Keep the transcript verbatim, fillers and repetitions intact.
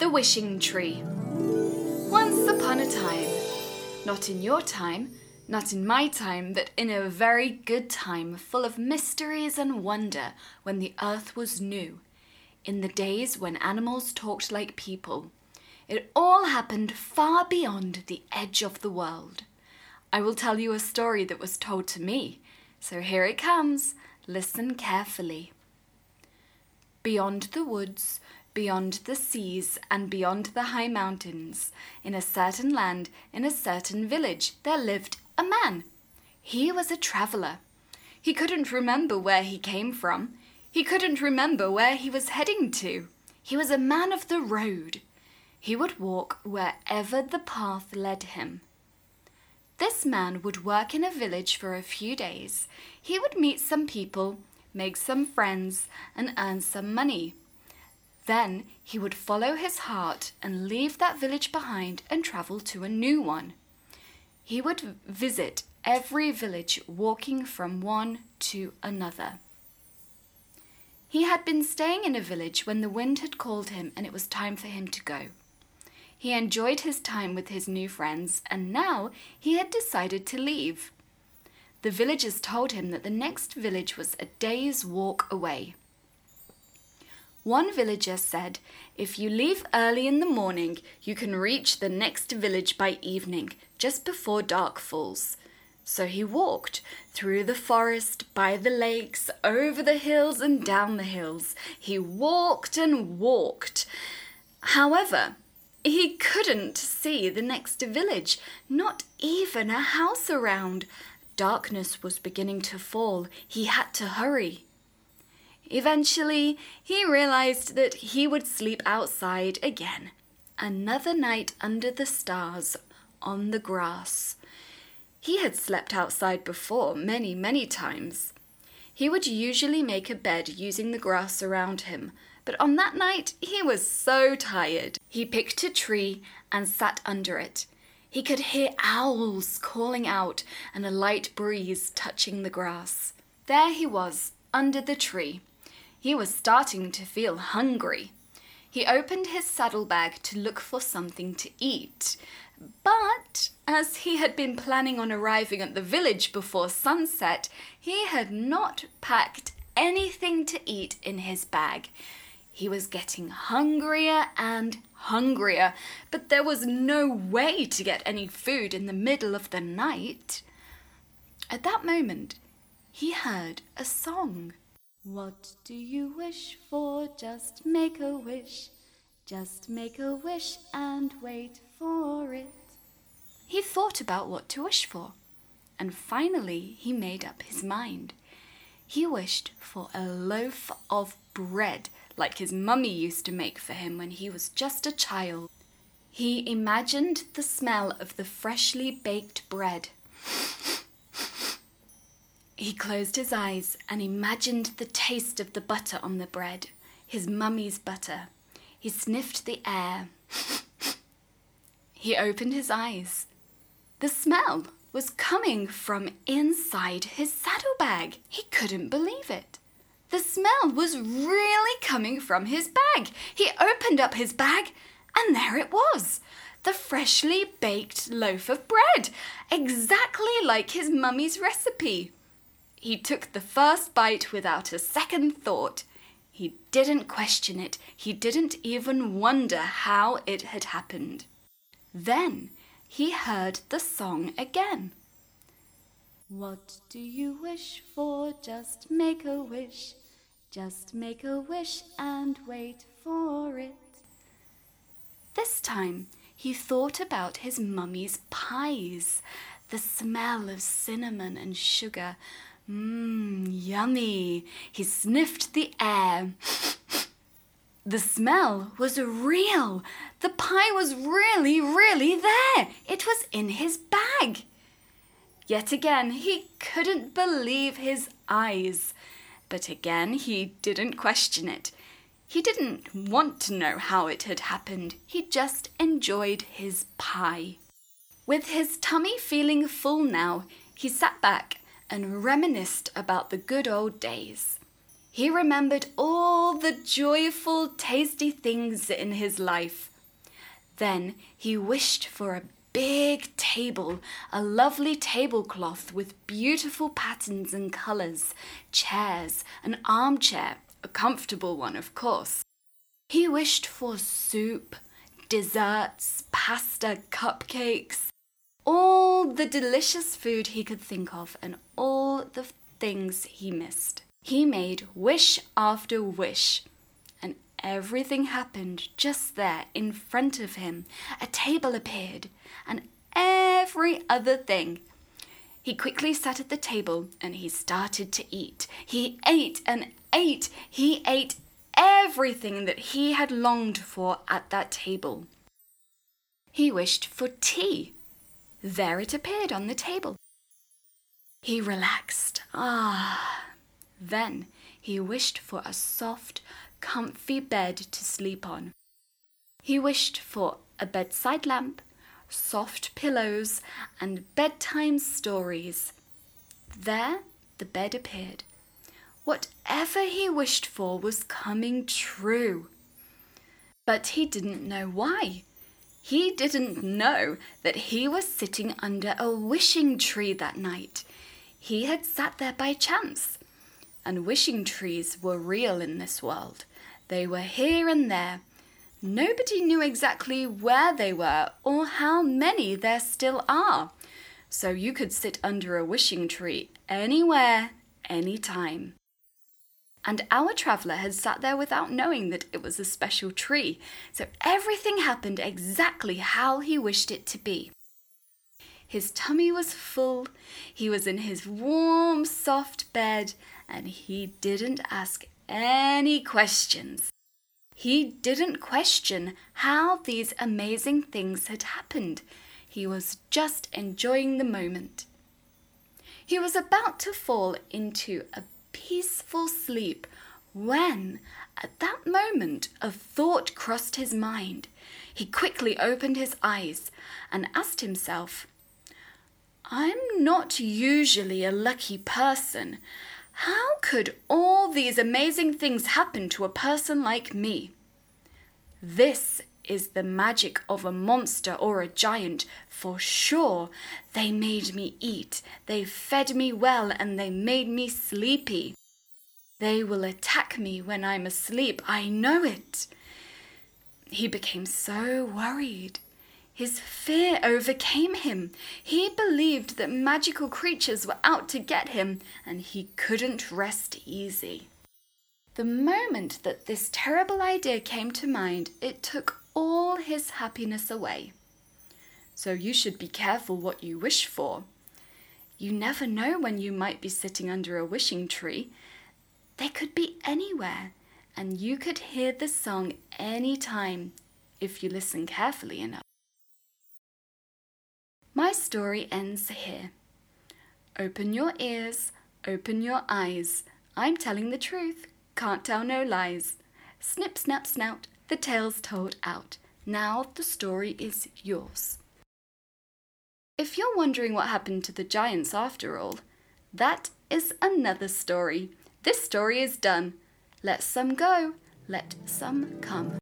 The Wishing Tree. Once upon a time, not in your time, not in my time, but in a very good time, full of mysteries and wonder, when the earth was new, in the days when animals talked like people. It all happened far beyond the edge of the world. I will tell you a story that was told to me, so here it comes. Listen carefully. Beyond the woods, beyond the seas, and beyond the high mountains, in a certain land, in a certain village, there lived a man. He was a traveller. He couldn't remember where he came from. He couldn't remember where he was heading to. He was a man of the road. He would walk wherever the path led him. This man would work in a village for a few days. He would meet some people, make some friends, and earn some money. Then he would follow his heart and leave that village behind and travel to a new one. He would visit every village, walking from one to another. He had been staying in a village when the wind had called him and it was time for him to go. He enjoyed his time with his new friends, and now he had decided to leave. The villagers told him that the next village was a day's walk away. One villager said, "If you leave early in the morning, you can reach the next village by evening, just before dark falls." So he walked through the forest, by the lakes, over the hills and down the hills. He walked and walked. However, he couldn't see the next village, not even a house around. Darkness was beginning to fall. He had to hurry. Eventually, he realized that he would sleep outside again. Another night under the stars, on the grass. He had slept outside before, many, many times. He would usually make a bed using the grass around him, but on that night he was so tired. He picked a tree and sat under it. He could hear owls calling out and a light breeze touching the grass. There he was, under the tree. He was starting to feel hungry. He opened his saddlebag to look for something to eat. But as he had been planning on arriving at the village before sunset, he had not packed anything to eat in his bag. He was getting hungrier and hungrier, but there was no way to get any food in the middle of the night. At that moment, he heard a song. "What do you wish for? Just make a wish. Just make a wish and wait for it." He thought about what to wish for, and finally he made up his mind. He wished for a loaf of bread, like his mummy used to make for him when he was just a child. He imagined the smell of the freshly baked bread. He closed his eyes and imagined the taste of the butter on the bread, his mummy's butter. He sniffed the air. He opened his eyes. The smell was coming from inside his saddlebag. He couldn't believe it. The smell was really coming from his bag. He opened up his bag, and there it was. The freshly baked loaf of bread, exactly like his mummy's recipe. He took the first bite without a second thought. He didn't question it. He didn't even wonder how it had happened. Then he heard the song again. "What do you wish for? Just make a wish. Just make a wish and wait for it." This time he thought about his mummy's pies, the smell of cinnamon and sugar. Mmm, yummy. He sniffed the air. The smell was real. The pie was really, really there. It was in his bag. Yet again, he couldn't believe his eyes. But again, he didn't question it. He didn't want to know how it had happened. He just enjoyed his pie. With his tummy feeling full now, he sat back and reminisced about the good old days. He remembered all the joyful, tasty things in his life. Then he wished for a big table, a lovely tablecloth with beautiful patterns and colours, chairs, an armchair, a comfortable one, of course. He wished for soup, desserts, pasta, cupcakes, all the delicious food he could think of and all the things he missed. He made wish after wish, and everything happened just there in front of him. A table appeared, and every other thing. He quickly sat at the table and he started to eat. He ate and ate. He ate everything that he had longed for at that table. He wished for tea. There it appeared on the table. He relaxed. Ah. Then he wished for a soft, comfy bed to sleep on. He wished for a bedside lamp, soft pillows, and bedtime stories. There the bed appeared. Whatever he wished for was coming true. But he didn't know why. He didn't know that he was sitting under a wishing tree that night. He had sat there by chance. And wishing trees were real in this world. They were here and there. Nobody knew exactly where they were or how many there still are. So you could sit under a wishing tree anywhere, anytime. And our traveller had sat there without knowing that it was a special tree. So everything happened exactly how he wished it to be. His tummy was full, he was in his warm, soft bed, and he didn't ask any questions. He didn't question how these amazing things had happened. He was just enjoying the moment. He was about to fall into a peaceful sleep when, at that moment, a thought crossed his mind. He quickly opened his eyes and asked himself, I'm not usually a lucky person. How could all these amazing things happen to a person like me? This is the magic of a monster or a giant, for sure. They made me eat, they fed me well, and they made me sleepy. They will attack me when I'm asleep, I know it. He became so worried. His fear overcame him. He believed that magical creatures were out to get him, and he couldn't rest easy. The moment that this terrible idea came to mind, it took all his happiness away. So you should be careful what you wish for. You never know when you might be sitting under a wishing tree. They could be anywhere, and you could hear the song any time if you listen carefully enough. My story ends here. Open your ears, open your eyes. I'm telling the truth, can't tell no lies. Snip, snap, snout, the tale's told out. Now the story is yours. If you're wondering what happened to the giants after all, that is another story. This story is done. Let some go, let some come.